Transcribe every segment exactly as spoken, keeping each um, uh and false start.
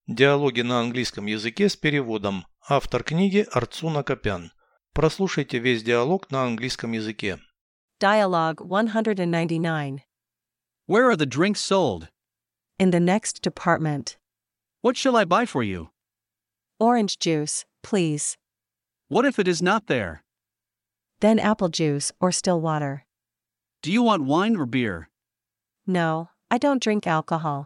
Диалоги на английском языке с переводом. Автор книги Арцуна Копян. Прослушайте весь диалог на английском языке. Dialogue one ninety-nine. Where are the drinks sold? In the next department. What shall I buy for you? Orange juice, please. What if it is not there? Then apple juice or still water. Do you want wine or beer? No, I don't drink alcohol.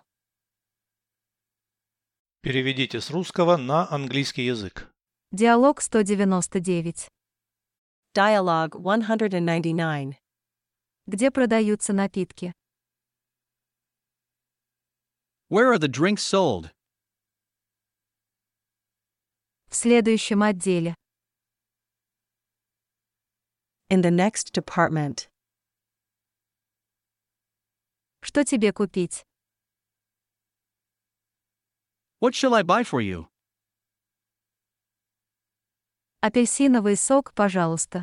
Переведите с русского на английский язык. Диалог сто девяносто девять. Dialogue one ninety-nine. Где продаются напитки? Where are the drinks sold? В следующем отделе. In the next department. Что тебе купить? What shall I buy for you? Апельсиновый сок, пожалуйста.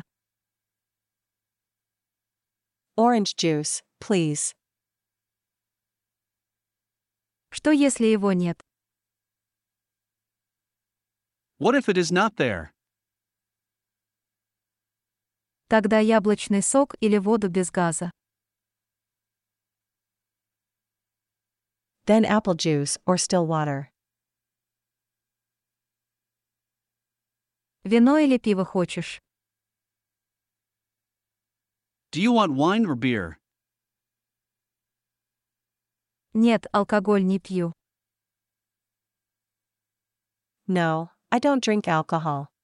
Orange juice, please. Что если его нет? What if it is not there? Тогда яблочный сок или воду без газа. Then apple juice or still water. Вино или пиво хочешь? Do you want wine or beer? Нет, алкоголь не пью. No, I don't drink alcohol.